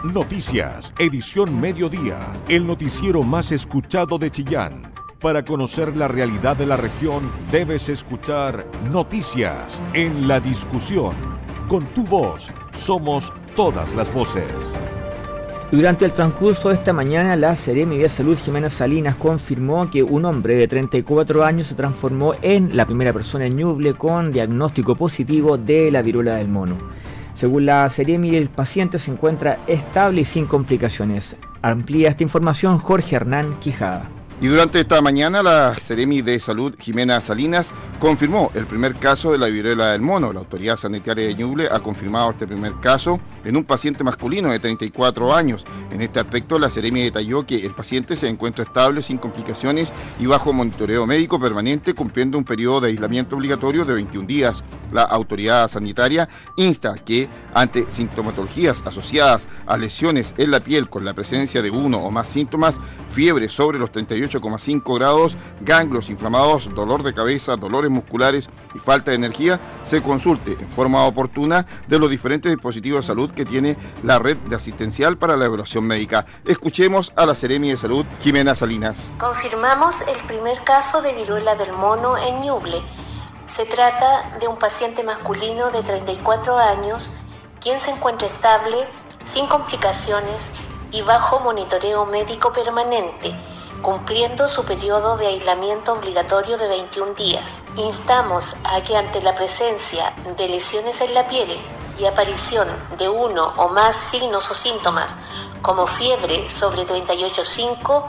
Noticias, edición mediodía, el noticiero más escuchado de Chillán. Para conocer la realidad de la región, debes escuchar Noticias en la discusión. Con tu voz, somos todas las voces. Durante el transcurso de esta mañana, la Seremi de Salud, Jimena Salinas, confirmó que un hombre de 34 años se transformó en la primera persona en Ñuble con diagnóstico positivo de la viruela del mono. Según la Seremi, el paciente se encuentra estable y sin complicaciones. Amplía esta información Jorge Hernán Quijada. Y durante esta mañana la Seremi de Salud, Jimena Salinas, confirmó el primer caso de la viruela del mono. La autoridad sanitaria de Ñuble ha confirmado este primer caso en un paciente masculino de 34 años. En este aspecto, la Seremi detalló que el paciente se encuentra estable, sin complicaciones y bajo monitoreo médico permanente, cumpliendo un periodo de aislamiento obligatorio de 21 días. La autoridad sanitaria insta que, ante sintomatologías asociadas a lesiones en la piel con la presencia de uno o más síntomas, fiebre sobre los 38,5 grados, ganglios inflamados, dolor de cabeza, dolores musculares y falta de energía, se consulte en forma oportuna de los diferentes dispositivos de salud que tiene la red de asistencial para la evaluación médica. Escuchemos a la Seremi de Salud, Jimena Salinas. Confirmamos el primer caso de viruela del mono en Ñuble. Se trata de un paciente masculino de 34 años, quien se encuentra estable, sin complicaciones y bajo monitoreo médico permanente, cumpliendo su periodo de aislamiento obligatorio de 21 días. Instamos a que ante la presencia de lesiones en la piel y aparición de uno o más signos o síntomas como fiebre sobre 38,5,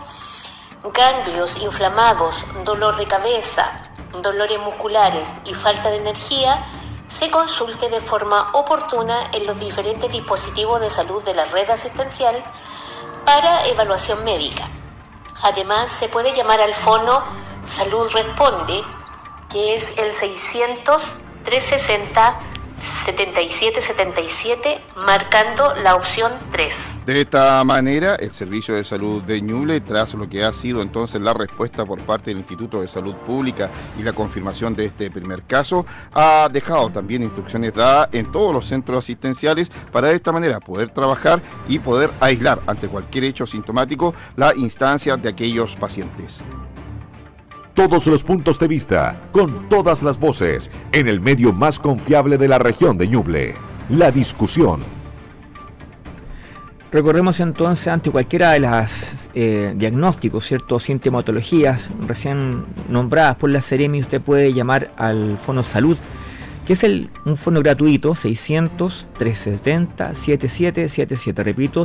ganglios inflamados, dolor de cabeza, dolores musculares y falta de energía, se consulte de forma oportuna en los diferentes dispositivos de salud de la red asistencial para evaluación médica. Además, se puede llamar al fono Salud Responde, que es el 600-360-7777, marcando la opción 3. De esta manera, el Servicio de Salud de Ñuble, tras lo que ha sido entonces la respuesta por parte del Instituto de Salud Pública y la confirmación de este primer caso, ha dejado también instrucciones dadas en todos los centros asistenciales para de esta manera poder trabajar y poder aislar ante cualquier hecho sintomático la instancia de aquellos pacientes. Todos los puntos de vista, con todas las voces, en el medio más confiable de la región de Ñuble. La discusión. Recorremos entonces ante cualquiera de las diagnósticos, ¿cierto? Sintomatologías recién nombradas por la Seremi. Usted puede llamar al Fono Salud, que es un fono gratuito, 600-360-7777. Repito,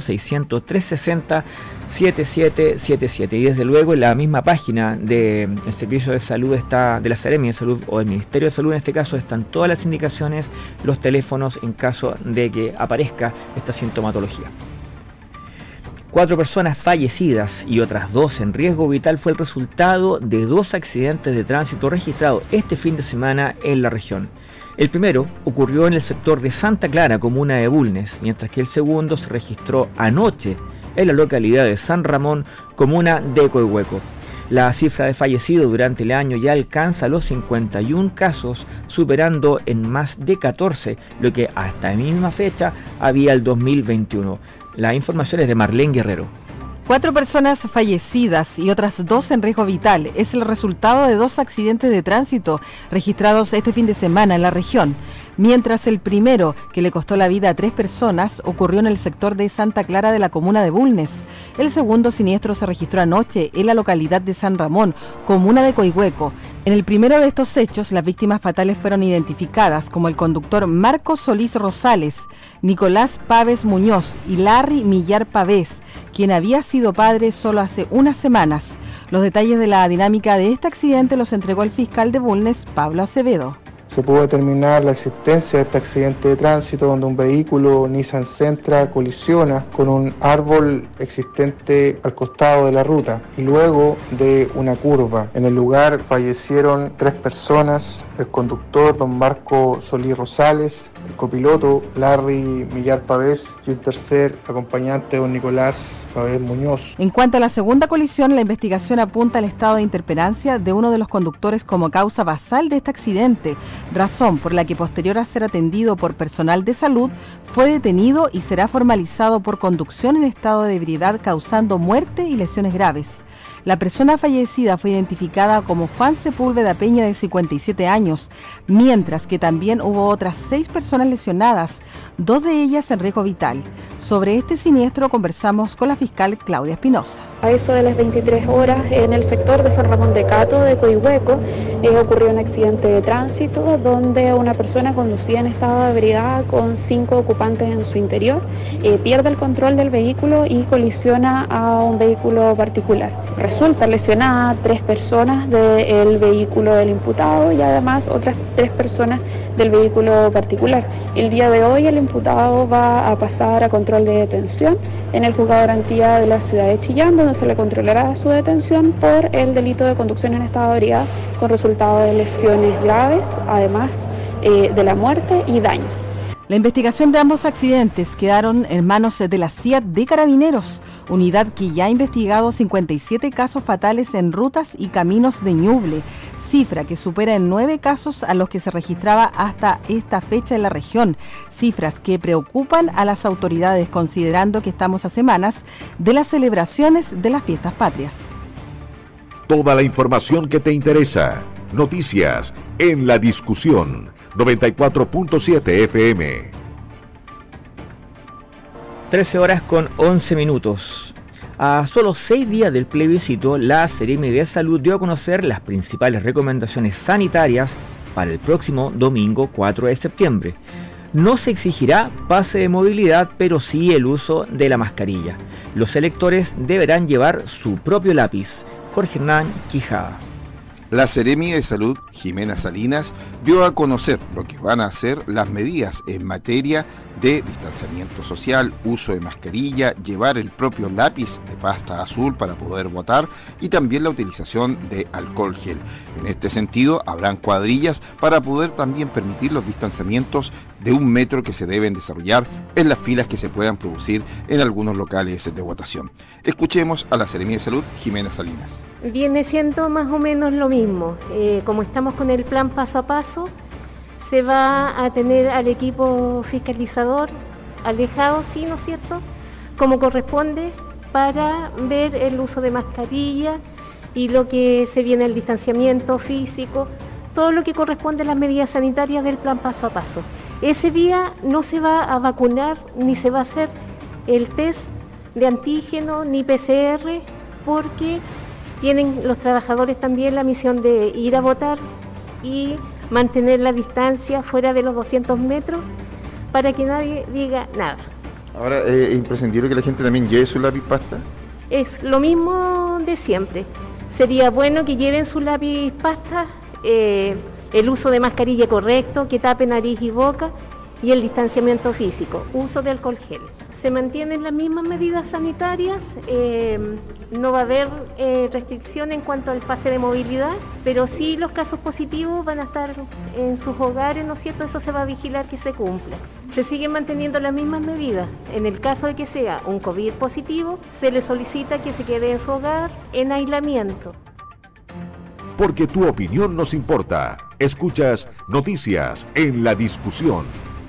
600-360-7777. Y desde luego en la misma página del Servicio de Salud de la Seremi de Salud o el Ministerio de Salud en este caso, están todas las indicaciones, los teléfonos en caso de que aparezca esta sintomatología. 4 personas fallecidas y otras 2 en riesgo vital fue el resultado de 2 accidentes de tránsito registrados este fin de semana en la región. El primero ocurrió en el sector de Santa Clara, comuna de Bulnes, mientras que el segundo se registró anoche en la localidad de San Ramón, comuna de Coihueco. La cifra de fallecidos durante el año ya alcanza los 51 casos, superando en más de 14 lo que hasta la misma fecha había el 2021. La información es de Marlene Guerrero. 4 personas fallecidas y otras 2 en riesgo vital es el resultado de 2 accidentes de tránsito registrados este fin de semana en la región. Mientras el primero, que le costó la vida a 3 personas, ocurrió en el sector de Santa Clara de la comuna de Bulnes. El segundo siniestro se registró anoche en la localidad de San Ramón, comuna de Coihueco. En el primero de estos hechos, las víctimas fatales fueron identificadas como el conductor Marcos Solís Rosales, Nicolás Pávez Muñoz y Larry Millar Pavés, quien había sido padre solo hace unas semanas. Los detalles de la dinámica de este accidente los entregó el fiscal de Bulnes, Pablo Acevedo. Se pudo determinar la existencia de este accidente de tránsito donde un vehículo Nissan Sentra colisiona con un árbol existente al costado de la ruta y luego de una curva. En el lugar fallecieron 3 personas, el conductor don Marco Solís Rosales, el copiloto Larry Millar Pavés y un tercer acompañante don Nicolás Pavés Muñoz. En cuanto a la segunda colisión, la investigación apunta al estado de interperancia de uno de los conductores como causa basal de este accidente. razón por la que posterior a ser atendido por personal de salud fue detenido y será formalizado por conducción en estado de ebriedad causando muerte y lesiones graves. La persona fallecida fue identificada como Juan Sepúlveda Peña, de 57 años, mientras que también hubo otras 6 personas lesionadas, 2 de ellas en riesgo vital. Sobre este siniestro conversamos con la fiscal Claudia Espinosa. A eso de las 23 horas, en el sector de San Ramón de Cato, de Coihueco, ocurrió un accidente de tránsito donde una persona conducía en estado de ebriedad con 5 ocupantes en su interior, pierde el control del vehículo y colisiona a un vehículo particular. Resulta lesionada 3 personas del vehículo del imputado y además otras 3 personas del vehículo particular. El día de hoy el imputado va a pasar a control de detención en el juzgado de garantía de la ciudad de Chillán, donde se le controlará su detención por el delito de conducción en estado de ebriedad con resultado de lesiones graves, además de la muerte y daños. La investigación de ambos accidentes quedaron en manos de la CIAT de Carabineros, unidad que ya ha investigado 57 casos fatales en rutas y caminos de Ñuble, cifra que supera en 9 casos a los que se registraba hasta esta fecha en la región, cifras que preocupan a las autoridades considerando que estamos a semanas de las celebraciones de las fiestas patrias. Toda la información que te interesa, noticias en La Discusión, 94.7 FM. 13 horas con 11 minutos. A solo 6 días del plebiscito, la Seremi de Salud dio a conocer las principales recomendaciones sanitarias para el próximo domingo 4 de septiembre. No se exigirá pase de movilidad, pero sí el uso de la mascarilla. Los electores deberán llevar su propio lápiz. Jorge Hernán Quijada. La Seremi de Salud, Jimena Salinas, dio a conocer lo que van a hacer las medidas en materia de distanciamiento social, uso de mascarilla, llevar el propio lápiz de pasta azul para poder votar y también la utilización de alcohol gel. En este sentido, habrán cuadrillas para poder también permitir los distanciamientos de 1 metro que se deben desarrollar en las filas que se puedan producir en algunos locales de votación. Escuchemos a la Seremi de Salud, Jimena Salinas. Viene siendo más o menos lo mismo. Como estamos con el plan paso a paso, se va a tener al equipo fiscalizador alejado, sí, ¿no es cierto?, como corresponde, para ver el uso de mascarilla y lo que se viene el distanciamiento físico, todo lo que corresponde a las medidas sanitarias del plan paso a paso. Ese día no se va a vacunar ni se va a hacer el test de antígeno ni PCR, porque tienen los trabajadores también la misión de ir a votar y mantener la distancia fuera de los 200 metros para que nadie diga nada. Ahora, ¿es imprescindible que la gente también lleve su lápiz pasta? Es lo mismo de siempre. Sería bueno que lleven su lápiz pasta, el uso de mascarilla correcto, que tape nariz y boca, y el distanciamiento físico, uso de alcohol gel. Se mantienen las mismas medidas sanitarias, no va a haber restricción en cuanto al pase de movilidad, pero sí los casos positivos van a estar en sus hogares, ¿no es cierto? Eso se va a vigilar que se cumpla. Se siguen manteniendo las mismas medidas. En el caso de que sea un COVID positivo, se le solicita que se quede en su hogar en aislamiento. Porque tu opinión nos importa. Escuchas Noticias en La Discusión.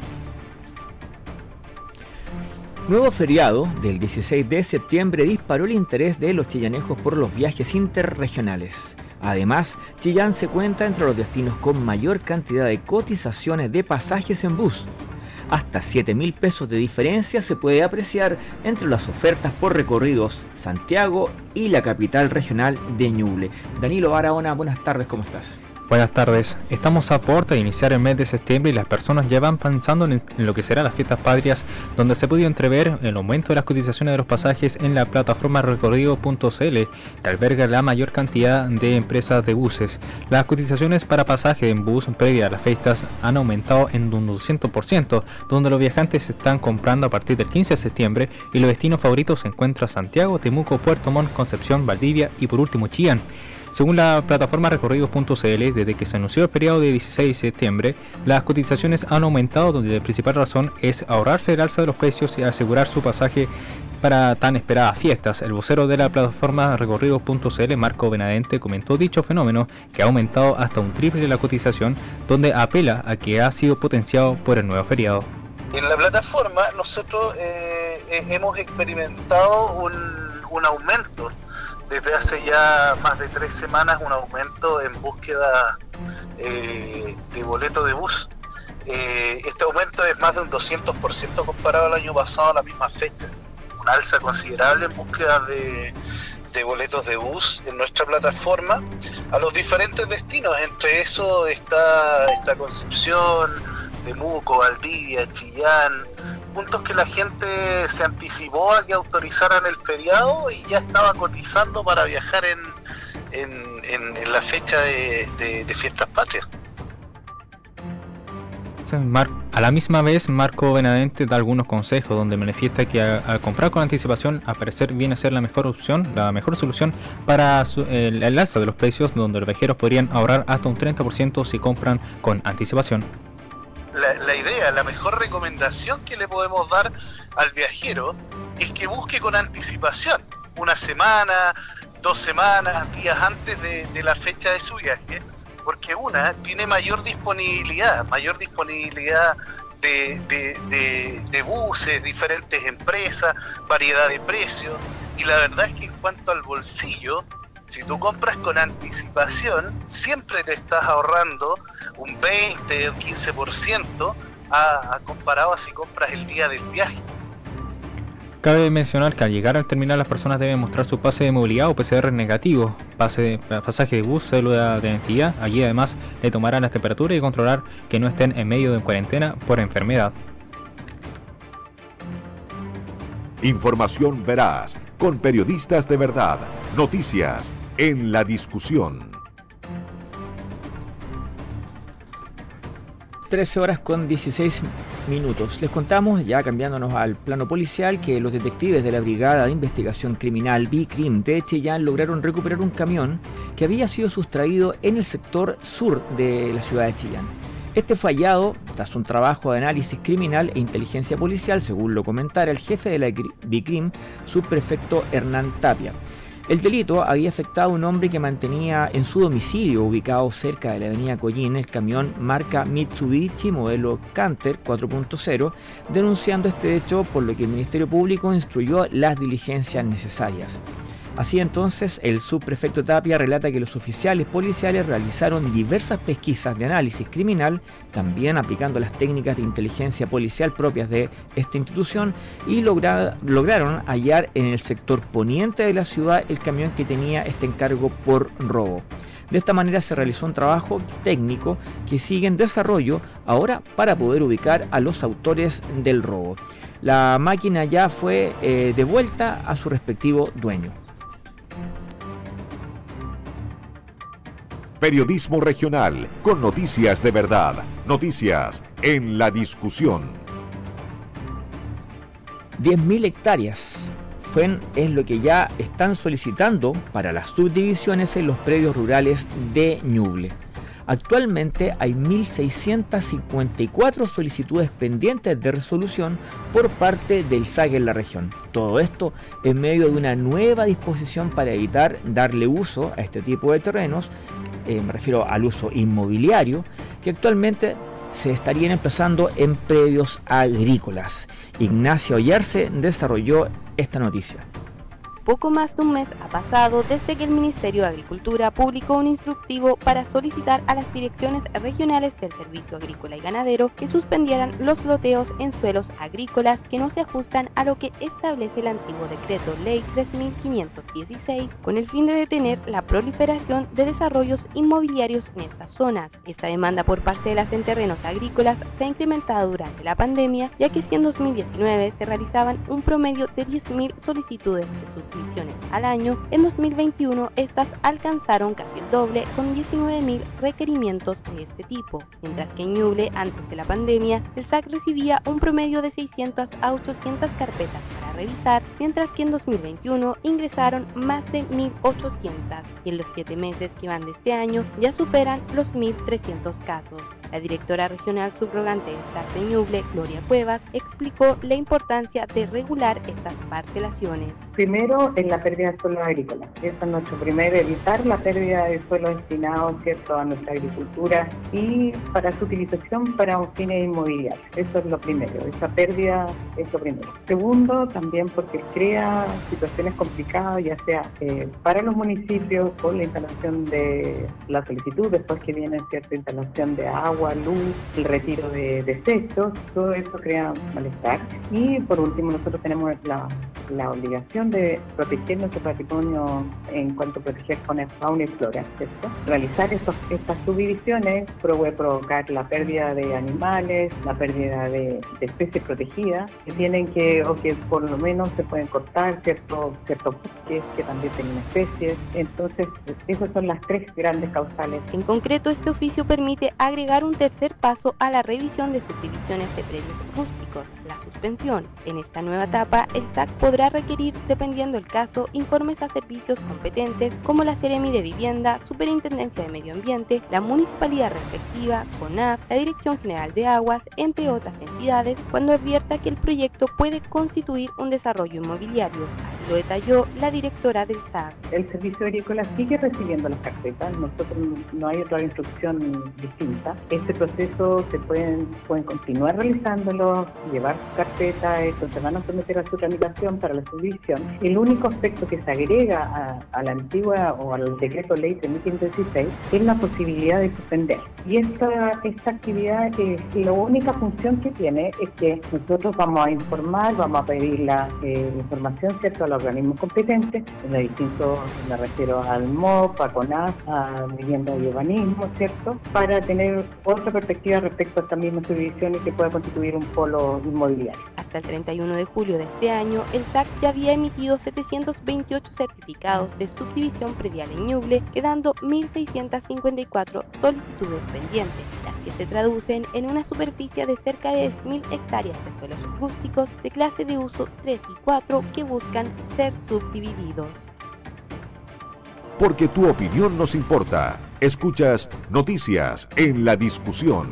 Nuevo feriado del 16 de septiembre disparó el interés de los chillanejos por los viajes interregionales. Además, Chillán se cuenta entre los destinos con mayor cantidad de cotizaciones de pasajes en bus. Hasta 7.000 pesos de diferencia se puede apreciar entre las ofertas por recorridos Santiago y la capital regional de Ñuble. Danilo Barahona, buenas tardes, ¿cómo estás? Buenas tardes, estamos a puerta de iniciar el mes de septiembre y las personas ya van pensando en lo que serán las fiestas patrias, donde se puede entrever el aumento de las cotizaciones de los pasajes en la plataforma recorrido.cl, que alberga la mayor cantidad de empresas de buses. Las cotizaciones para pasaje en bus previa a las fiestas han aumentado en un 200%, donde los viajantes están comprando a partir del 15 de septiembre y los destinos favoritos se encuentran Santiago, Temuco, Puerto Montt, Concepción, Valdivia y por último Chillán. Según la plataforma recorridos.cl, desde que se anunció el feriado de 16 de septiembre, las cotizaciones han aumentado, donde la principal razón es ahorrarse el alza de los precios y asegurar su pasaje para tan esperadas fiestas. El vocero de la plataforma recorridos.cl, Marco Benavente, comentó dicho fenómeno que ha aumentado hasta un triple la cotización, donde apela a que ha sido potenciado por el nuevo feriado. En la plataforma nosotros hemos experimentado un aumento desde hace ya más de 3 semanas, un aumento en búsqueda de boleto de bus. Este aumento es más de un 200% comparado al año pasado a la misma fecha. Una alza considerable en búsqueda de boletos de bus en nuestra plataforma a los diferentes destinos. Entre eso está Concepción, Temuco, Valdivia, Chillán, puntos que la gente se anticipó a que autorizaran el feriado y ya estaba cotizando para viajar en la fecha de fiestas patrias. A la misma vez, Marco Benavente da algunos consejos donde manifiesta que al comprar con anticipación, al parecer viene a ser la mejor solución para el alza de los precios, donde los viajeros podrían ahorrar hasta un 30% si compran con anticipación. La mejor recomendación que le podemos dar al viajero es que busque con anticipación, 1 semana, 2 semanas, días antes de la fecha de su viaje, porque tiene mayor disponibilidad de buses, diferentes empresas, variedad de precios, y la verdad es que en cuanto al bolsillo, si tú compras con anticipación, siempre te estás ahorrando un 20 o 15% comparado a si compras el día del viaje. Cabe mencionar que al llegar al terminal las personas deben mostrar su pase de movilidad o PCR negativo, pasaje de bus, cédula de identidad. Allí además le tomarán las temperaturas y controlar que no estén en medio de cuarentena por enfermedad. Información veraz, con periodistas de verdad. Noticias en la discusión. 13 horas con 16 minutos. Les contamos, ya cambiándonos al plano policial, que los detectives de la Brigada de Investigación Criminal BICRIM de Chillán lograron recuperar un camión que había sido sustraído en el sector sur de la ciudad de Chillán. Este fue hallado tras un trabajo de análisis criminal e inteligencia policial, según lo comentara el jefe de la BICRIM, subprefecto Hernán Tapia. El delito había afectado a un hombre que mantenía en su domicilio, ubicado cerca de la avenida Collín, el camión marca Mitsubishi modelo Canter 4.0, denunciando este hecho, por lo que el Ministerio Público instruyó las diligencias necesarias. Así entonces, el subprefecto Tapia relata que los oficiales policiales realizaron diversas pesquisas de análisis criminal, también aplicando las técnicas de inteligencia policial propias de esta institución, y lograron hallar en el sector poniente de la ciudad el camión que tenía este encargo por robo. De esta manera se realizó un trabajo técnico que sigue en desarrollo ahora para poder ubicar a los autores del robo. La máquina ya fue devuelta a su respectivo dueño. Periodismo regional, con noticias de verdad. Noticias en la discusión. 10.000 hectáreas es lo que ya están solicitando para las subdivisiones en los predios rurales de Ñuble. Actualmente hay 1.654 solicitudes pendientes de resolución por parte del SAC en la región. Todo esto en medio de una nueva disposición para evitar darle uso a este tipo de terrenos, me refiero al uso inmobiliario, que actualmente se estarían empezando en predios agrícolas. Ignacia Ollarse desarrolló esta noticia. Poco más de un mes ha pasado desde que el Ministerio de Agricultura publicó un instructivo para solicitar a las direcciones regionales del Servicio Agrícola y Ganadero que suspendieran los loteos en suelos agrícolas que no se ajustan a lo que establece el antiguo decreto Ley 3.516, con el fin de detener la proliferación de desarrollos inmobiliarios en estas zonas. Esta demanda por parcelas en terrenos agrícolas se ha incrementado durante la pandemia, ya que si en 2019 se realizaban un promedio de 10.000 solicitudes de subdivisiones al año, en 2021 estas alcanzaron casi el doble, con 19.000 requerimientos de este tipo, mientras que en Ñuble, antes de la pandemia, el SAC recibía un promedio de 600 a 800 carpetas para revisar, mientras que en 2021 ingresaron más de 1.800 y en los 7 meses que van de este año ya superan los 1.300 casos. La directora regional subrogante del SAC de Ñuble, Gloria Cuevas, explicó la importancia de regular estas parcelaciones. Primero, en la pérdida de suelo agrícola. Eso es nuestro primer, evitar la pérdida de suelo destinado, ¿cierto?, a nuestra agricultura y para su utilización para un fin inmobiliario. Eso es lo primero, esa pérdida es lo primero. Segundo, también porque crea situaciones complicadas, ya sea para los municipios con la instalación de la solicitud, después que viene cierta instalación de agua, luz, el retiro de desechos, todo eso crea malestar. Y por último, nosotros tenemos la obligación de proteger nuestro patrimonio en cuanto a proteger fauna y flora, ¿cierto? Realizar estas subdivisiones puede provocar la pérdida de animales, la pérdida de especies protegidas, que tienen o que por lo menos se pueden cortar ciertos bosques que también tienen especies. Entonces, esas son las 3 grandes causales. En concreto, este oficio permite agregar un tercer paso a la revisión de subdivisiones de predios rústicos, la suspensión. En esta nueva etapa, el SAC podrá requerir, dependiendo del caso, informes a servicios competentes como la Seremi de Vivienda, Superintendencia de Medio Ambiente, la municipalidad respectiva, CONAF, la Dirección General de Aguas, entre otras entidades, cuando advierta que el proyecto puede constituir un desarrollo inmobiliario. Así lo detalló la directora del SAC. El Servicio Agrícola sigue recibiendo las carpetas, nosotros no hay otra instrucción distinta. Este proceso se pueden continuar realizándolo, llevar su carpeta, se van a someter a su tramitación para la subdivisión. El único aspecto que se agrega a la antigua o al decreto ley 3516 es la posibilidad de suspender. Y esta actividad, la única función que tiene es que nosotros vamos a informar, vamos a pedir la información, ¿cierto?, a los organismos competentes, me refiero al MOP, a CONAF, a Vivienda y Urbanismo, ¿cierto?, para tener otra perspectiva respecto a esta misma subdivisión y que pueda constituir un polo inmobiliario. Hasta el 31 de julio de este año, el SAC ya había emitido 728 certificados de subdivisión predial en Ñuble, quedando 1.654 solicitudes pendientes, las que se traducen en una superficie de cerca de 10.000 hectáreas de suelos rústicos de clase de uso 3 y 4 que buscan ser subdivididos. Porque tu opinión nos importa. Escuchas Noticias en la Discusión.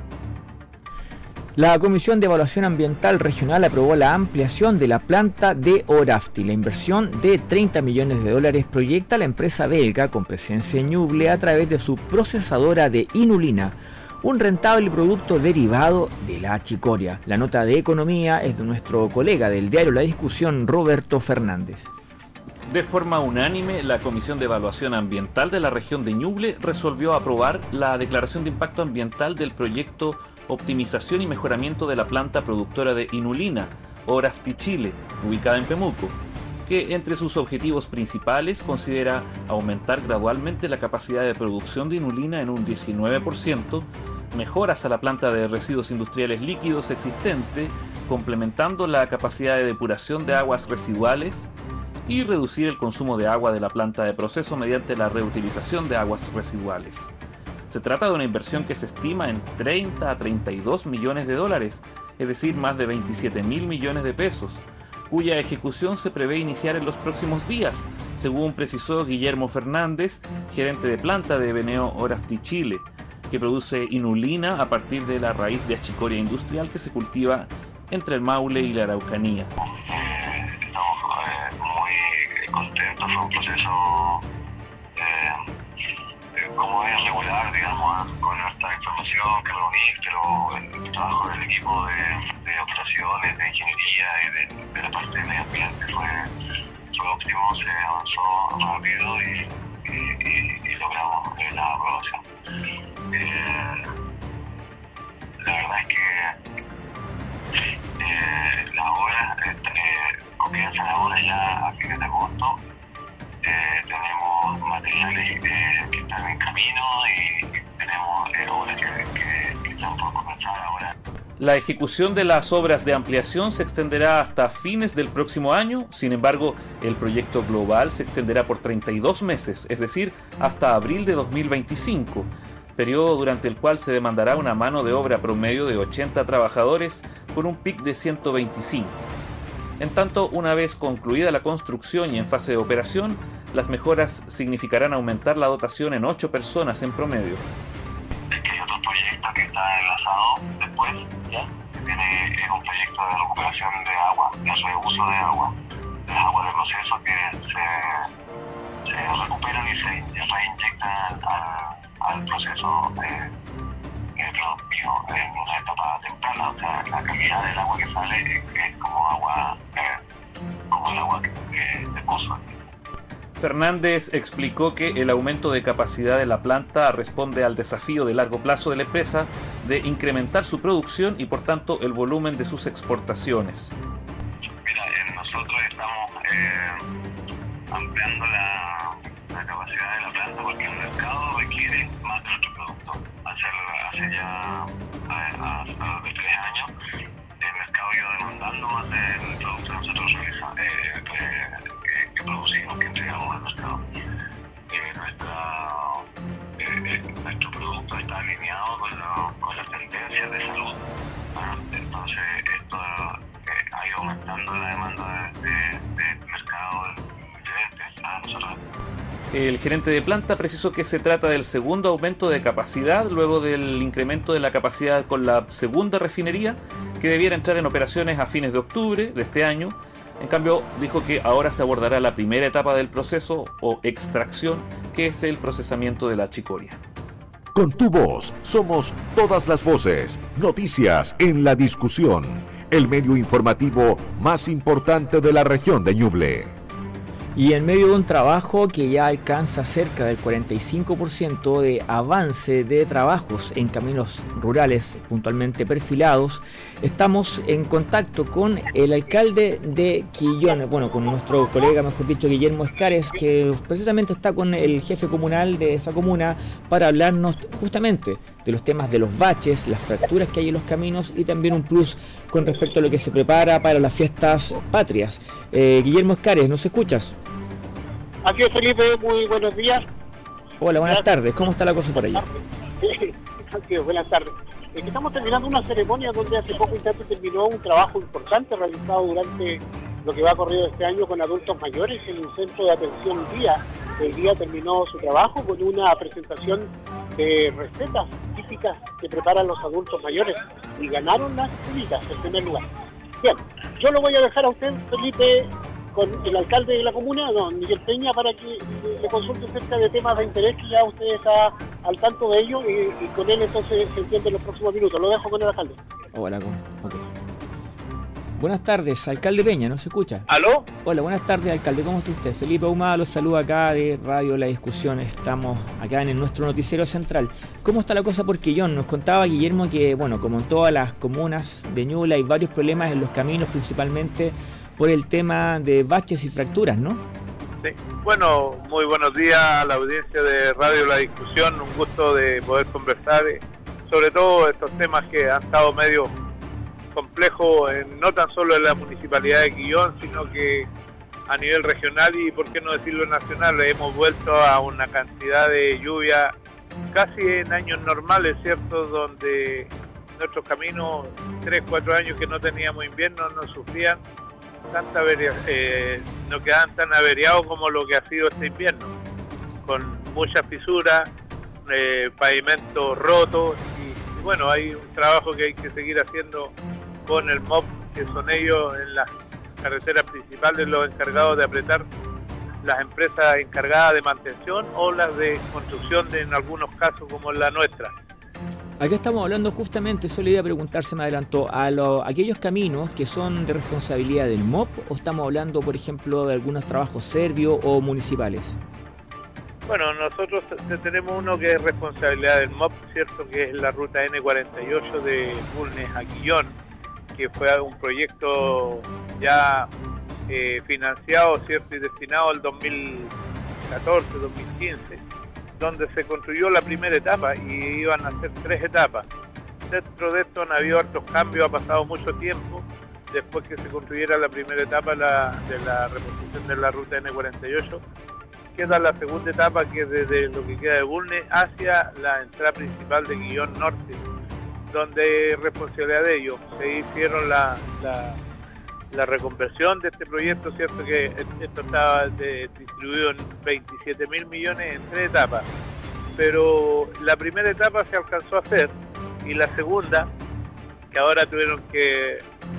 La Comisión de Evaluación Ambiental Regional aprobó la ampliación de la planta de Orafti. La inversión de $30 millones proyecta la empresa belga con presencia en Ñuble a través de su procesadora de inulina, un rentable producto derivado de la achicoria. La nota de economía es de nuestro colega del diario La Discusión, Roberto Fernández. De forma unánime, la Comisión de Evaluación Ambiental de la región de Ñuble resolvió aprobar la declaración de impacto ambiental del proyecto Optimización y Mejoramiento de la Planta Productora de Inulina, Orafti Chile, ubicada en Pemuco, que entre sus objetivos principales considera aumentar gradualmente la capacidad de producción de inulina en un 19%, mejoras a la planta de residuos industriales líquidos existente, complementando la capacidad de depuración de aguas residuales y reducir el consumo de agua de la planta de proceso mediante la reutilización de aguas residuales. Se trata de una inversión que se estima en 30 a 32 millones de dólares, es decir, más de 27.000 millones de pesos, cuya ejecución se prevé iniciar en los próximos días, según precisó Guillermo Fernández, gerente de planta de Beneo Orafti Chile, que produce inulina a partir de la raíz de achicoria industrial que se cultiva entre el Maule y la Araucanía. Estamos muy contentos, fue un proceso como es regular, digamos, con esta información que reunir, el trabajo del equipo de operaciones, de ingeniería y de la parte de medio ambiente fue óptimo, se avanzó rápido y logramos la aprobación. La verdad es que la obra comienza ahora ya a fines de agosto. Tenemos materiales que están en camino y tenemos obras que están por comenzar ahora. La ejecución de las obras de ampliación se extenderá hasta fines del próximo año, sin embargo, el proyecto global se extenderá por 32 meses, es decir, hasta abril de 2025, periodo durante el cual se demandará una mano de obra promedio de 80 trabajadores con un PIC de 125. En tanto, una vez concluida la construcción y en fase de operación, las mejoras significarán aumentar la dotación en 8 personas en promedio. Hay otro proyecto que está enlazado después, ¿ya? Es un proyecto de recuperación de agua, de reuso de agua, de las aguas de proceso que se recuperan y se reinyectan al proceso productivo en una etapa temprana. O sea, la calidad del agua que sale es como el agua de pozo. Fernández explicó que el aumento de capacidad de la planta responde al desafío de largo plazo de la empresa de incrementar su producción y por tanto el volumen de sus exportaciones. Mira, nosotros estamos ampliando la capacidad de la planta porque el mercado requiere más de nuestro producto. Hace ya alrededor de 3 años el mercado iba demandando más del producto que nosotros que producimos, que entregamos al mercado. Nuestro producto está alineado con las tendencias de salud. Entonces esto ha ido aumentando la demanda del mercado diferente a nosotros. El gerente de planta precisó que se trata del segundo aumento de capacidad luego del incremento de la capacidad con la segunda refinería, que debiera entrar en operaciones a fines de octubre de este año. En cambio, dijo que ahora se abordará la primera etapa del proceso o extracción, que es el procesamiento de la chicoria. Con tu voz somos todas las voces. Noticias en la discusión. El medio informativo más importante de la región de Ñuble. Y en medio de un trabajo que ya alcanza cerca del 45% de avance de trabajos en caminos rurales puntualmente perfilados, estamos en contacto con el alcalde de Quillón, con nuestro colega, mejor dicho, Guillermo Escares, que precisamente está con el jefe comunal de esa comuna para hablarnos justamente de los temas de los baches, las fracturas que hay en los caminos y también un plus con respecto a lo que se prepara para las fiestas patrias. Guillermo Escares, ¿nos escuchas? Aquí es Felipe, muy buenos días. Hola, buenas tardes. ¿Cómo está la cosa por allá? Buenas tardes. Estamos terminando una ceremonia donde hace poco instante terminó un trabajo importante realizado durante lo que va corrido este año con adultos mayores en un centro de atención día. El día terminó su trabajo con una presentación de recetas típicas que preparan los adultos mayores y ganaron las civitas en primer lugar. Bien, yo lo voy a dejar a usted, Felipe, con el alcalde de la comuna, don Miguel Peña, para que le consulte acerca de temas de interés que ya usted está al tanto de ello y con él entonces se entiende en los próximos minutos. Lo dejo con el alcalde. Hola, okay. Buenas tardes, alcalde Peña, ¿no se escucha? ¿Aló? Hola, buenas tardes, alcalde, ¿cómo está usted? Felipe Ahumada los saluda acá de Radio La Discusión, estamos acá en nuestro noticiero central. ¿Cómo está la cosa por Quillón? Nos contaba Guillermo que, como en todas las comunas de Ñuble hay varios problemas en los caminos, principalmente por el tema de baches y fracturas, ¿no? Sí, bueno, muy buenos días a la audiencia de Radio La Discusión, un gusto de poder conversar sobre todo estos temas que han estado medio complejos, no tan solo en la municipalidad de Quillón, sino que a nivel regional y, por qué no decirlo, nacional. Hemos vuelto a una cantidad de lluvia casi en años normales, ¿cierto?, donde nuestros caminos, 3-4 años que no teníamos invierno, no sufrían no quedaban tan averiados como lo que ha sido este invierno, con muchas fisuras, pavimentos rotos y bueno, hay un trabajo que hay que seguir haciendo con el MOP, que son ellos en las carreteras principales los encargados de apretar las empresas encargadas de mantención o las de construcción en algunos casos como la nuestra. Acá estamos hablando justamente, solo iba a preguntarse, me adelantó, aquellos caminos que son de responsabilidad del MOP, o estamos hablando, por ejemplo, de algunos trabajos serbios o municipales. Bueno, nosotros tenemos uno que es responsabilidad del MOP, cierto, que es la ruta N48 de Bulnes a Quillón, que fue un proyecto ya financiado, cierto, y destinado al 2014-2015. donde se construyó la primera etapa y iban a ser 3 etapas. Dentro de esto han habido hartos cambios, ha pasado mucho tiempo después que se construyera la primera etapa de la reposición de la ruta N48. Queda la segunda etapa, que es desde lo que queda de Bulnes hacia la entrada principal de Quillón Norte, donde responsabilidad de ellos se hicieron la reconversión de este proyecto, cierto que esto estaba distribuido en 27.000 millones en 3 etapas, pero la primera etapa se alcanzó a hacer y la segunda, que ahora tuvieron que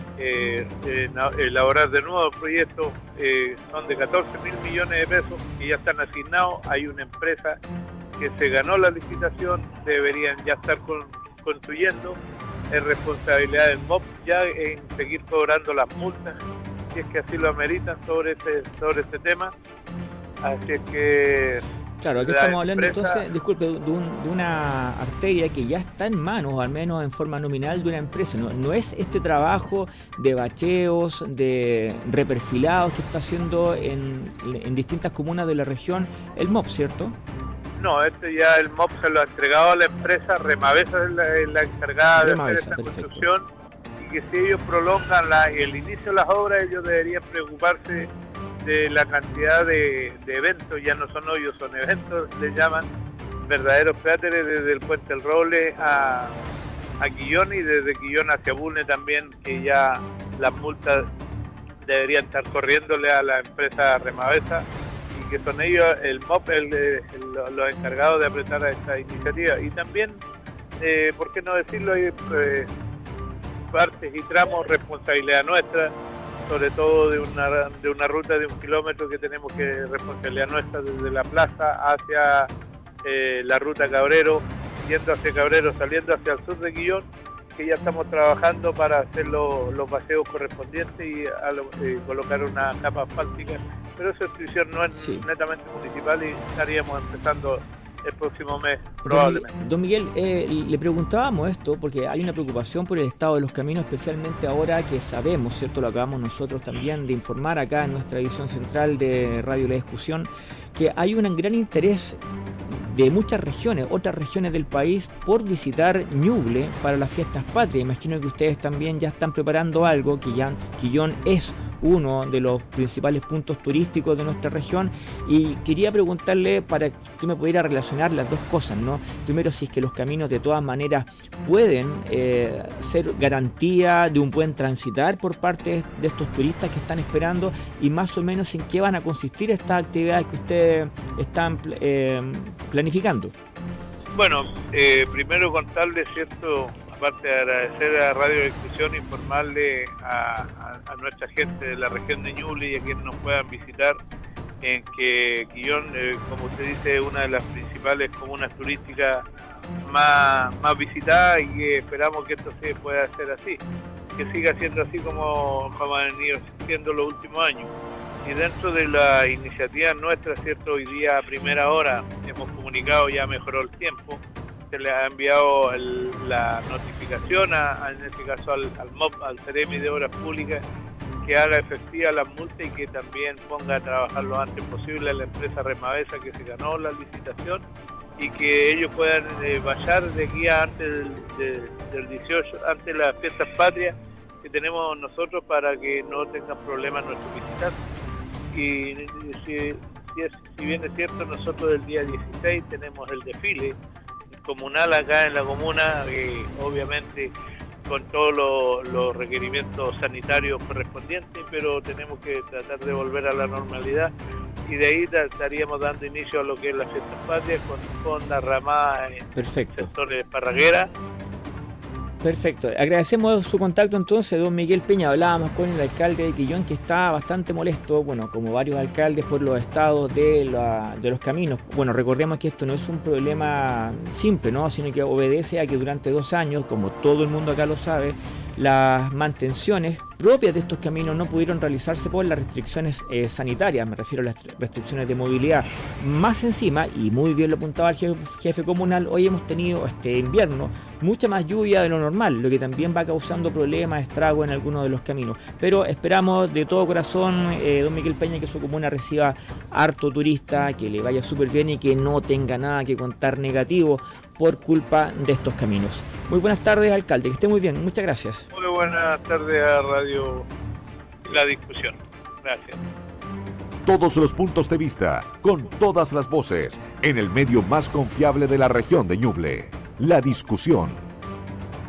elaborar de nuevo el proyecto, son de 14.000 millones de pesos que ya están asignados. Hay una empresa que se ganó la licitación, deberían ya estar construyendo. Es responsabilidad del MOP ya en seguir cobrando las multas, si es que así lo ameritan sobre este tema. Así es que... Claro, aquí estamos hablando entonces, disculpe, de una arteria que ya está en manos, o al menos en forma nominal, de una empresa. No es este trabajo de bacheos, de reperfilados que está haciendo en distintas comunas de la región el MOP, ¿cierto? No, ya el MOP se lo ha entregado a la empresa, Remavesa es la encargada de hacer esta construcción, y que si ellos prolongan el inicio de las obras, ellos deberían preocuparse de la cantidad de eventos. Ya no son hoyos, son eventos, le llaman, verdaderos cráteres desde el Puente del Roble a Quillón, y desde Quillón hacia Bulnes también, que ya las multas deberían estar corriéndole a la empresa Remavesa, y que son ellos, el MOP, los encargados de apretar a esta iniciativa. Y también, ¿por qué no decirlo? Hay partes y tramos, responsabilidad nuestra, sobre todo de una ruta de 1 kilómetro que tenemos que responsabilidad nuestra desde la plaza hacia la ruta Cabrero, yendo hacia Cabrero, saliendo hacia el sur de Quillón, que ya estamos trabajando para hacer los paseos correspondientes y colocar una capa asfáltica, pero esa institución no es netamente municipal y estaríamos empezando el próximo mes, probablemente. Don Miguel, le preguntábamos esto porque hay una preocupación por el estado de los caminos, especialmente ahora que sabemos, ¿cierto? Lo acabamos nosotros también de informar acá en nuestra edición central de Radio La Discusión, que hay un gran interés de muchas regiones, otras regiones del país, por visitar Ñuble para las fiestas patrias. Imagino que ustedes también ya están preparando algo, que ya Quillón es uno de los principales puntos turísticos de nuestra región, y quería preguntarle para que usted me pudiera relacionar las dos cosas, ¿no? Primero, si es que los caminos de todas maneras pueden ser garantía de un buen transitar por parte de estos turistas que están esperando, y más o menos en qué van a consistir estas actividades que ustedes están planificando. Bueno, primero contarles, ¿cierto?, aparte de agradecer a Radio Discusión, informarle a nuestra gente de la región de Ñuble y a quienes nos puedan visitar, en que Quillón, como usted dice, es una de las principales comunas turísticas más visitadas, y que esperamos que esto se pueda hacer así, que siga siendo así como ha venido siendo los últimos años. Y dentro de la iniciativa nuestra, ¿cierto?, hoy día a primera hora hemos comunicado, ya mejoró el tiempo, se le ha enviado la notificación en este caso al MOP, al Ceremi de Obras Públicas, que haga efectiva las multas y que también ponga a trabajar lo antes posible a la empresa Remavesa, que se ganó la licitación, y que ellos puedan vallar de aquí antes del 18, antes de las fiestas patrias que tenemos nosotros, para que no tengan problemas nuestros visitantes. Y si bien es cierto, nosotros el día 16 tenemos el desfile comunal acá en la comuna, obviamente con todos los requerimientos sanitarios correspondientes, pero tenemos que tratar de volver a la normalidad, y de ahí estaríamos dando inicio a lo que es la fiesta patria con la ramada en sectores de Parraguera. Perfecto, agradecemos su contacto entonces, don Miguel Peña. Hablábamos con el alcalde de Quillón, que está bastante molesto, bueno, como varios alcaldes, por los estados de los caminos. Bueno, recordemos que esto no es un problema simple, ¿no?, sino que obedece a que durante 2 años, como todo el mundo acá lo sabe, las mantenciones propias de estos caminos no pudieron realizarse por las restricciones sanitarias, me refiero a las restricciones de movilidad. Más encima, y muy bien lo apuntaba el jefe comunal, hoy hemos tenido este invierno mucha más lluvia de lo normal, lo que también va causando problemas, estragos en algunos de los caminos. Pero esperamos de todo corazón, don Miguel Peña, que su comuna reciba harto turista, que le vaya súper bien y que no tenga nada que contar negativo por culpa de estos caminos. Muy buenas tardes, alcalde, que esté muy bien, muchas gracias. Muy buenas tardes a Radio La Discusión. Gracias. Todos los puntos de vista, con todas las voces, en el medio más confiable de la región de Ñuble. La Discusión.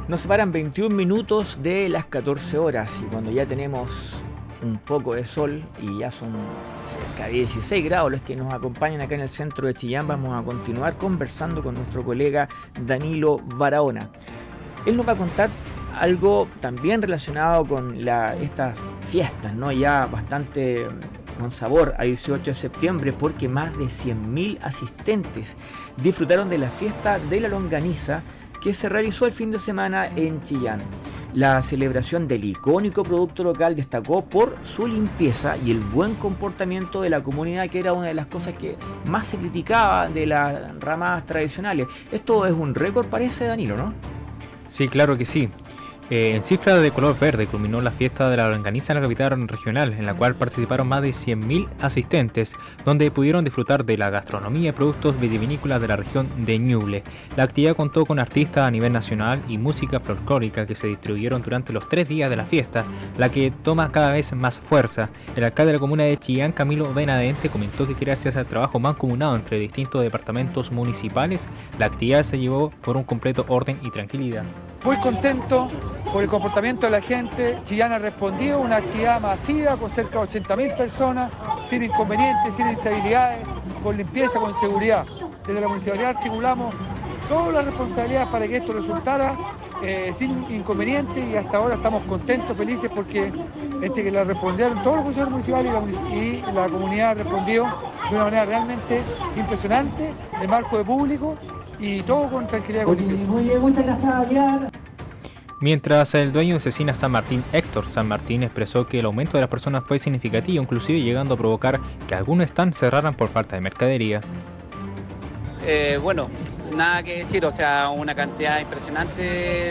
Nos separan 21 minutos de las 14 horas y cuando ya tenemos un poco de sol y ya son cerca de 16 grados los que nos acompañan acá en el centro de Chillán, vamos a continuar conversando con nuestro colega Danilo Barahona. Él nos va a contar algo también relacionado con estas fiestas, ¿no? Ya bastante con sabor a 18 de septiembre, porque más de 100.000 asistentes disfrutaron de la fiesta de la longaniza que se realizó el fin de semana en Chillán. La celebración del icónico producto local destacó por su limpieza y el buen comportamiento de la comunidad, que era una de las cosas que más se criticaba de las ramas tradicionales. Esto es un récord, parece, Danilo, ¿no? Sí, claro que sí. En cifra de color verde culminó la fiesta de la longaniza en la capital regional, en la cual participaron más de 100.000 asistentes, donde pudieron disfrutar de la gastronomía y productos vitivinícolas de la región de Ñuble. La actividad contó con artistas a nivel nacional y música folclórica que se distribuyeron durante los 3 días de la fiesta, la que toma cada vez más fuerza. El alcalde de la comuna de Chillán, Camilo Benavente, comentó que gracias al trabajo mancomunado entre distintos departamentos municipales, la actividad se llevó por un completo orden y tranquilidad. Muy contento por el comportamiento de la gente. Chillán ha respondido a una actividad masiva con cerca de 80.000 personas, sin inconvenientes, sin instabilidades, con limpieza, con seguridad. Desde la municipalidad articulamos todas las responsabilidades para que esto resultara sin inconvenientes y hasta ahora estamos contentos, felices, porque entre que la respondieron todos los funcionarios municipales y la comunidad respondió de una manera realmente impresionante, en marco de público, y todo con tranquilidad y con limpieza. Muy bien, muchas gracias, Adrián. Mientras el dueño de Cecina San Martín, Héctor San Martín, expresó que el aumento de las personas fue significativo, inclusive llegando a provocar que algunos stands cerraran por falta de mercadería. Bueno, nada que decir, o sea, una cantidad impresionante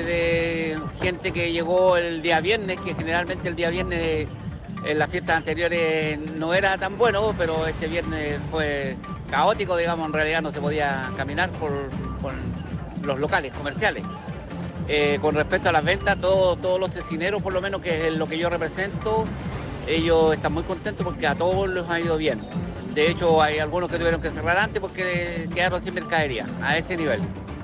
de gente que llegó el día viernes, que generalmente el día viernes en las fiestas anteriores no era tan bueno, pero este viernes fue caótico, digamos, en realidad no se podía caminar por los locales comerciales. Con respecto a las ventas, todos los cecineros, por lo menos, que es lo que yo represento, ellos están muy contentos porque a todos les ha ido bien. De hecho, hay algunos que tuvieron que cerrar antes porque quedaron sin mercadería, a ese nivel.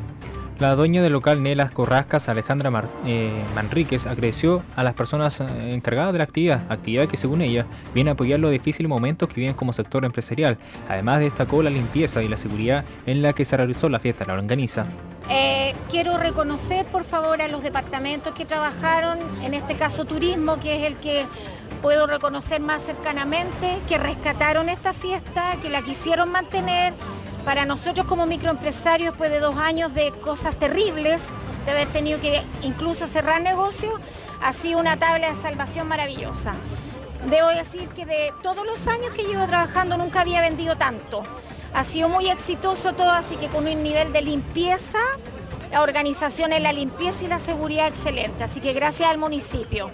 La dueña del local Nelas Corrascas, Alejandra Manríquez, agradeció a las personas encargadas de la actividad que según ella viene a apoyar los difíciles momentos que viven como sector empresarial. Además destacó la limpieza y la seguridad en la que se realizó la fiesta de la longaniza. Quiero reconocer por favor a los departamentos que trabajaron, en este caso turismo, que es el que puedo reconocer más cercanamente, que rescataron esta fiesta, que la quisieron mantener. Para nosotros como microempresarios, después de 2 años de cosas terribles, de haber tenido que incluso cerrar negocios, ha sido una tabla de salvación maravillosa. Debo decir que de todos los años que llevo trabajando nunca había vendido tanto. Ha sido muy exitoso todo, así que con un nivel de limpieza, la organización en la limpieza y la seguridad excelente. Así que gracias al municipio.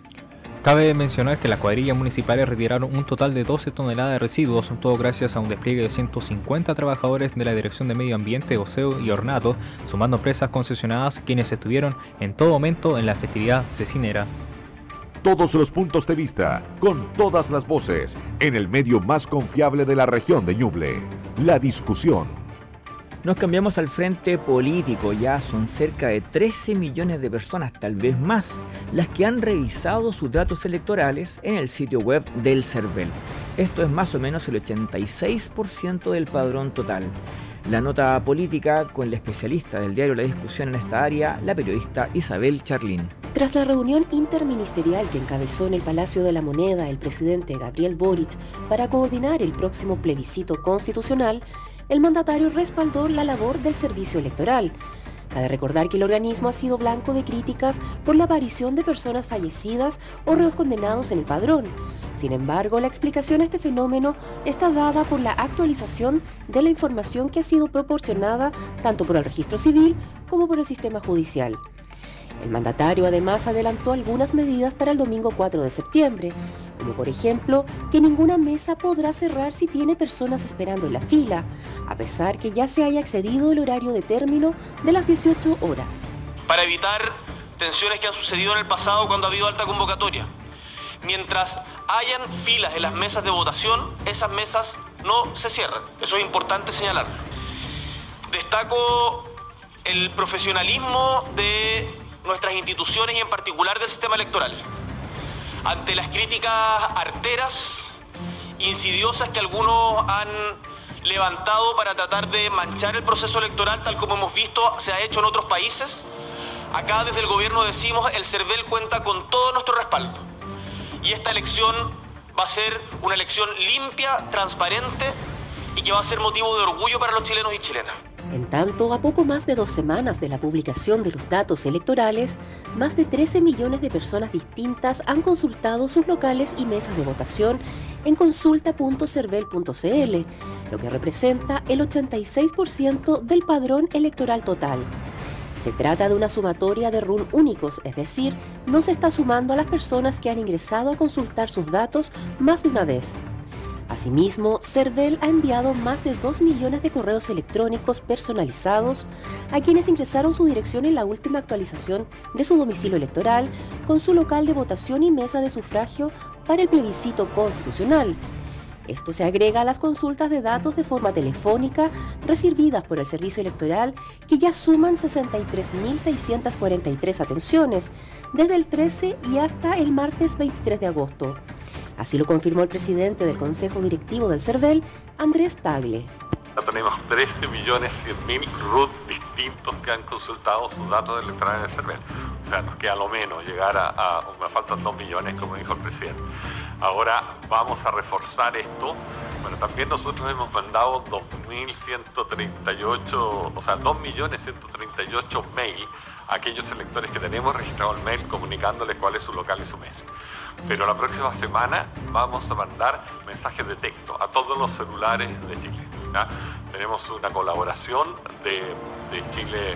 Cabe mencionar que las cuadrillas municipales retiraron un total de 12 toneladas de residuos, todo gracias a un despliegue de 150 trabajadores de la Dirección de Medio Ambiente, Oseo y Ornato, sumando empresas concesionadas quienes estuvieron en todo momento en la festividad cecinera. Todos los puntos de vista, con todas las voces, en el medio más confiable de la región de Ñuble, La Discusión. Nos cambiamos al frente político. Ya son cerca de 13 millones de personas, tal vez más, las que han revisado sus datos electorales en el sitio web del CERVEL. Esto es más o menos el 86% del padrón total. La nota política con la especialista del diario La Discusión en esta área, la periodista Isabel Charlín. Tras la reunión interministerial que encabezó en el Palacio de la Moneda el presidente Gabriel Boric para coordinar el próximo plebiscito constitucional, el mandatario respaldó la labor del servicio electoral. Cabe recordar que el organismo ha sido blanco de críticas por la aparición de personas fallecidas o reos condenados en el padrón. Sin embargo, la explicación a este fenómeno está dada por la actualización de la información que ha sido proporcionada tanto por el registro civil como por el sistema judicial. El mandatario además adelantó algunas medidas para el domingo 4 de septiembre, como por ejemplo que ninguna mesa podrá cerrar si tiene personas esperando en la fila, a pesar que ya se haya excedido el horario de término de las 18 horas. Para evitar tensiones que han sucedido en el pasado cuando ha habido alta convocatoria. Mientras hayan filas en las mesas de votación, esas mesas no se cierran. Eso es importante señalarlo. Destaco el profesionalismo de nuestras instituciones y en particular del sistema electoral. Ante las críticas arteras, insidiosas que algunos han levantado para tratar de manchar el proceso electoral, tal como hemos visto se ha hecho en otros países, acá desde el gobierno decimos el CERVEL cuenta con todo nuestro respaldo. Y esta elección va a ser una elección limpia, transparente y que va a ser motivo de orgullo para los chilenos y chilenas. En tanto, a poco más de 2 semanas de la publicación de los datos electorales, más de 13 millones de personas distintas han consultado sus locales y mesas de votación en consulta.cervel.cl, lo que representa el 86% del padrón electoral total. Se trata de una sumatoria de RUN únicos, es decir, no se está sumando a las personas que han ingresado a consultar sus datos más de una vez. Asimismo, CERVEL ha enviado más de 2 millones de correos electrónicos personalizados a quienes ingresaron su dirección en la última actualización de su domicilio electoral con su local de votación y mesa de sufragio para el plebiscito constitucional. Esto se agrega a las consultas de datos de forma telefónica recibidas por el Servicio Electoral, que ya suman 63.643 atenciones desde el 13 y hasta el martes 23 de agosto. Así lo confirmó el presidente del Consejo Directivo del CERVEL, Andrés Tagle. Ya tenemos 13.100.000 RUT distintos que han consultado sus datos electorales del CERVEL. O sea, nos queda lo menos llegar me faltan 2 millones, como dijo el presidente. Ahora vamos a reforzar esto. Bueno, también nosotros hemos mandado 2.138 mail a aquellos electores que tenemos registrado el mail comunicándoles cuál es su local y su mesa. Pero la próxima semana vamos a mandar mensajes de texto a todos los celulares de Chile, ¿ya? Tenemos una colaboración de Chile,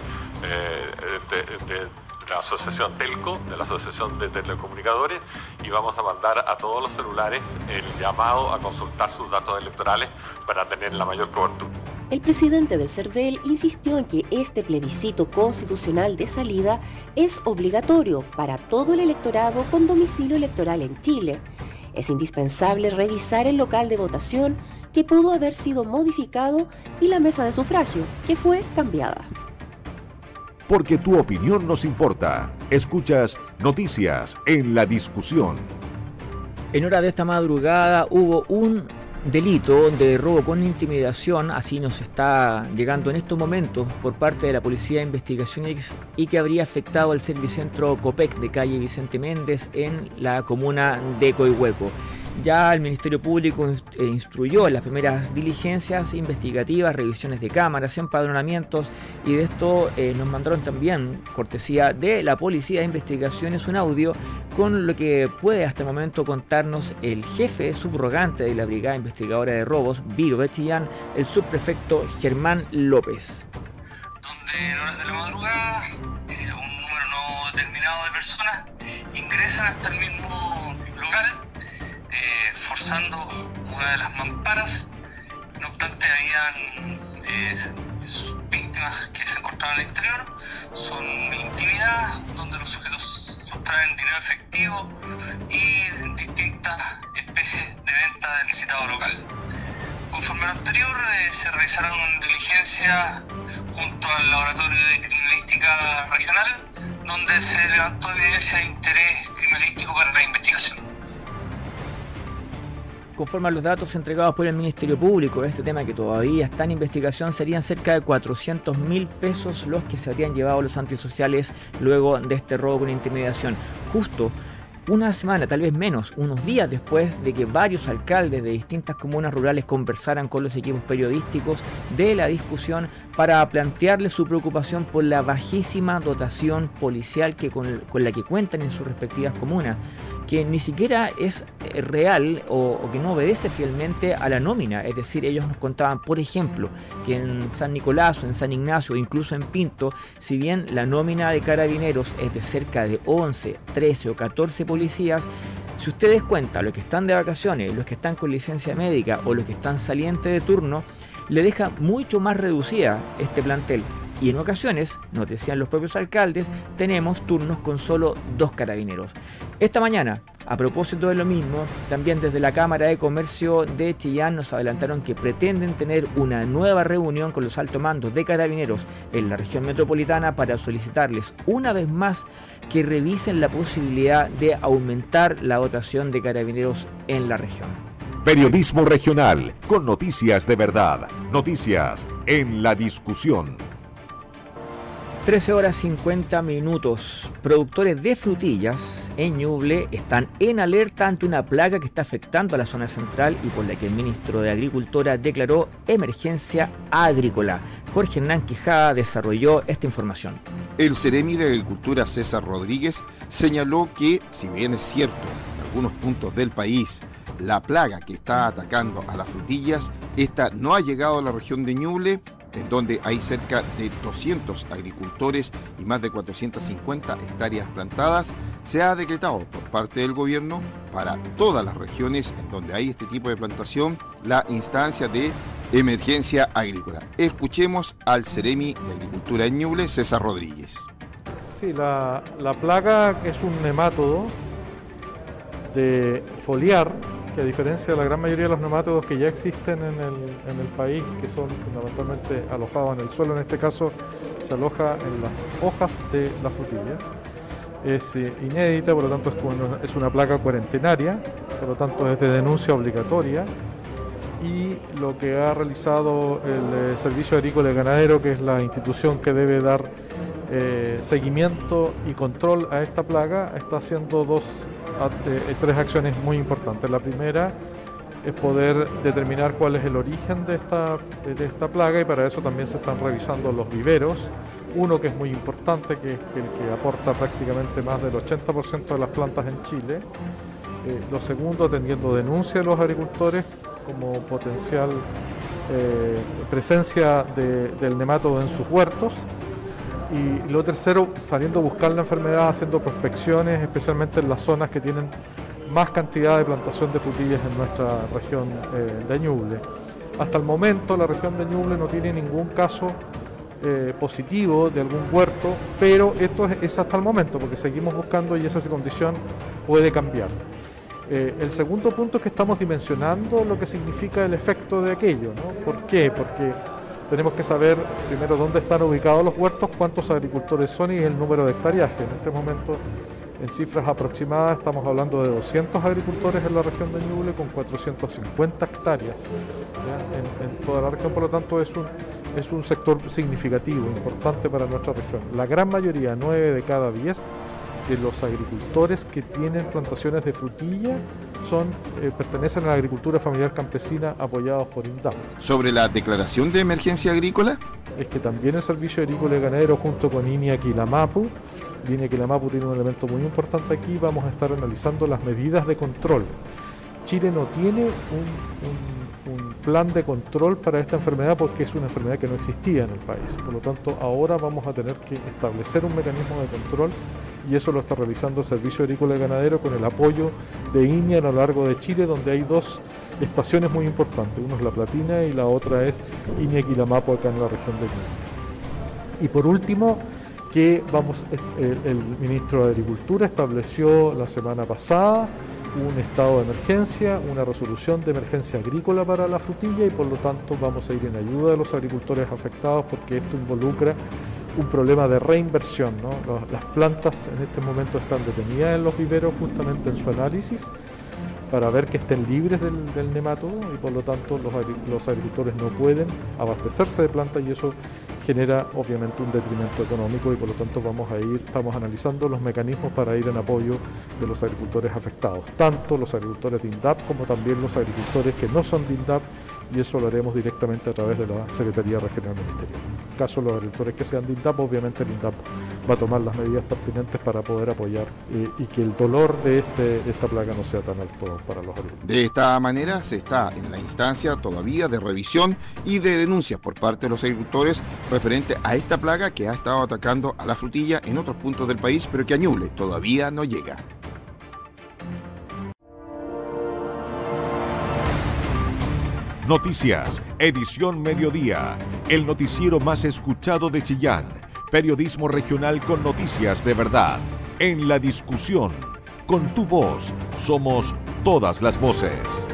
de la asociación Telco, de la asociación de telecomunicadores, y vamos a mandar a todos los celulares el llamado a consultar sus datos electorales para tener la mayor cobertura. El presidente del CERVEL insistió en que este plebiscito constitucional de salida es obligatorio para todo el electorado con domicilio electoral en Chile. Es indispensable revisar el local de votación que pudo haber sido modificado y la mesa de sufragio que fue cambiada. Porque tu opinión nos importa. Escuchas Noticias en la Discusión. En hora de esta madrugada hubo un delito de robo con intimidación, así nos está llegando en estos momentos por parte de la Policía de Investigaciones, y que habría afectado al Servicentro Copec de calle Vicente Méndez en la comuna de Coihueco. Ya el Ministerio Público instruyó las primeras diligencias investigativas, revisiones de cámaras, empadronamientos, y de esto nos mandaron también, cortesía de la Policía de Investigaciones, un audio con lo que puede hasta el momento contarnos el jefe subrogante de la Brigada Investigadora de Robos, Viro de Chillán, el subprefecto Germán López. Donde en horas de la madrugada un número no determinado de personas ingresan hasta el mismo lugar, forzando una de las mamparas. No obstante, habían víctimas que se encontraban al interior, son intimidadas, donde los sujetos sustraen dinero efectivo y distintas especies de venta del citado local. Conforme a lo anterior, se realizaron diligencias junto al Laboratorio de Criminalística Regional, donde se levantó evidencia de interés criminalístico para la investigación. Conforme a los datos entregados por el Ministerio Público, este tema que todavía está en investigación, serían cerca de 400.000 pesos los que se habrían llevado los antisociales luego de este robo con intimidación. Justo una semana, tal vez menos, unos días después de que varios alcaldes de distintas comunas rurales conversaran con los equipos periodísticos de la discusión para plantearles su preocupación por la bajísima dotación policial con la que cuentan en sus respectivas comunas, que ni siquiera es real o que no obedece fielmente a la nómina. Es decir, ellos nos contaban, por ejemplo, que en San Nicolás o en San Ignacio o incluso en Pinto, si bien la nómina de carabineros es de cerca de 11, 13 o 14 policías, si ustedes cuentan los que están de vacaciones, los que están con licencia médica o los que están salientes de turno, le deja mucho más reducida este plantel. Y en ocasiones, nos decían los propios alcaldes, tenemos turnos con solo 2 carabineros. Esta mañana, A propósito de lo mismo, también desde la Cámara de Comercio de Chillán nos adelantaron que pretenden tener una nueva reunión con los altos mandos de Carabineros en la región metropolitana para solicitarles una vez más que revisen la posibilidad de aumentar la dotación de Carabineros en la región. Periodismo regional con noticias de verdad. Noticias en la discusión. 13 horas 50 minutos. Productores de frutillas en Ñuble están en alerta ante una plaga que está afectando a la zona central y por la que el ministro de Agricultura declaró emergencia agrícola. Jorge Hernán Quijada desarrolló esta información. El Ceremi de Agricultura César Rodríguez señaló que, si bien es cierto, en algunos puntos del país la plaga que está atacando a las frutillas, esta no ha llegado a la región de Ñuble, en donde hay cerca de 200 agricultores y más de 450 hectáreas plantadas, se ha decretado por parte del gobierno para todas las regiones en donde hay este tipo de plantación la instancia de emergencia agrícola. Escuchemos al Ceremi de Agricultura en Ñuble, César Rodríguez. Sí, la plaga es un nemátodo de foliar, que a diferencia de la gran mayoría de los nemátodos que ya existen en el país, que son fundamentalmente alojados en el suelo, en este caso se aloja en las hojas de la frutilla. Es inédita, por lo tanto es una plaga cuarentenaria, por lo tanto es de denuncia obligatoria, y lo que ha realizado el Servicio Agrícola y Ganadero, que es la institución que debe dar seguimiento y control a esta plaga, está haciendo tres acciones muy importantes. La primera es poder determinar cuál es el origen de esta plaga, y para eso también se están revisando los viveros. Uno que es muy importante, que es el que aporta prácticamente más del 80% de las plantas en Chile. Lo segundo, atendiendo denuncias de los agricultores como potencial presencia del nemátodo en sus huertos. Y lo tercero, saliendo a buscar la enfermedad, haciendo prospecciones, especialmente en las zonas que tienen más cantidad de plantación de frutillas en nuestra región de Ñuble. Hasta el momento la región de Ñuble no tiene ningún caso positivo de algún huerto, pero esto es hasta el momento, porque seguimos buscando y esa condición puede cambiar. El segundo punto es que estamos dimensionando lo que significa el efecto de aquello, ¿no? ¿Por qué? Porque tenemos que saber primero dónde están ubicados los huertos, cuántos agricultores son y el número de hectareaje. En este momento, en cifras aproximadas, estamos hablando de 200 agricultores en la región de Ñuble con 450 hectáreas en toda la región. Por lo tanto, es un sector significativo, importante para nuestra región. La gran mayoría, 9 de cada 10 de los agricultores que tienen plantaciones de frutilla pertenecen a la agricultura familiar campesina apoyados por INDAP. Sobre la declaración de emergencia agrícola, es que también el Servicio Agrícola y Ganadero junto con INIA Quilamapu tiene un elemento muy importante aquí. Vamos a estar analizando las medidas de control. Chile no tiene un plan de control para esta enfermedad porque es una enfermedad que no existía en el país. Por lo tanto, ahora vamos a tener que establecer un mecanismo de control, y eso lo está realizando el Servicio Agrícola y Ganadero con el apoyo de INIA a lo largo de Chile, donde hay dos estaciones muy importantes. Uno es La Platina y la otra es INIA Quilamapu acá en la región de Ñuble. Y por último, el ministro de Agricultura estableció la semana pasada un estado de emergencia, una resolución de emergencia agrícola para la frutilla, y por lo tanto vamos a ir en ayuda de los agricultores afectados, porque esto involucra un problema de reinversión, ¿no? Las plantas en este momento están detenidas en los viveros justamente en su análisis para ver que estén libres del nemátodo, y por lo tanto los agricultores no pueden abastecerse de plantas, y eso genera obviamente un detrimento económico, y por lo tanto estamos analizando los mecanismos para ir en apoyo de los agricultores afectados, tanto los agricultores de INDAP como también los agricultores que no son de INDAP, y eso lo haremos directamente a través de la Secretaría Regional Ministerial. En caso de los agricultores que sean de INDAP, obviamente el INDAP va a tomar las medidas pertinentes para poder apoyar y que el dolor de esta plaga no sea tan alto para los agricultores. De esta manera se está en la instancia todavía de revisión y de denuncias por parte de los agricultores referente a esta plaga que ha estado atacando a la frutilla en otros puntos del país, pero que a Ñuble todavía no llega. Noticias, edición mediodía, el noticiero más escuchado de Chillán, periodismo regional con noticias de verdad, en la discusión, Con tu voz somos todas las voces.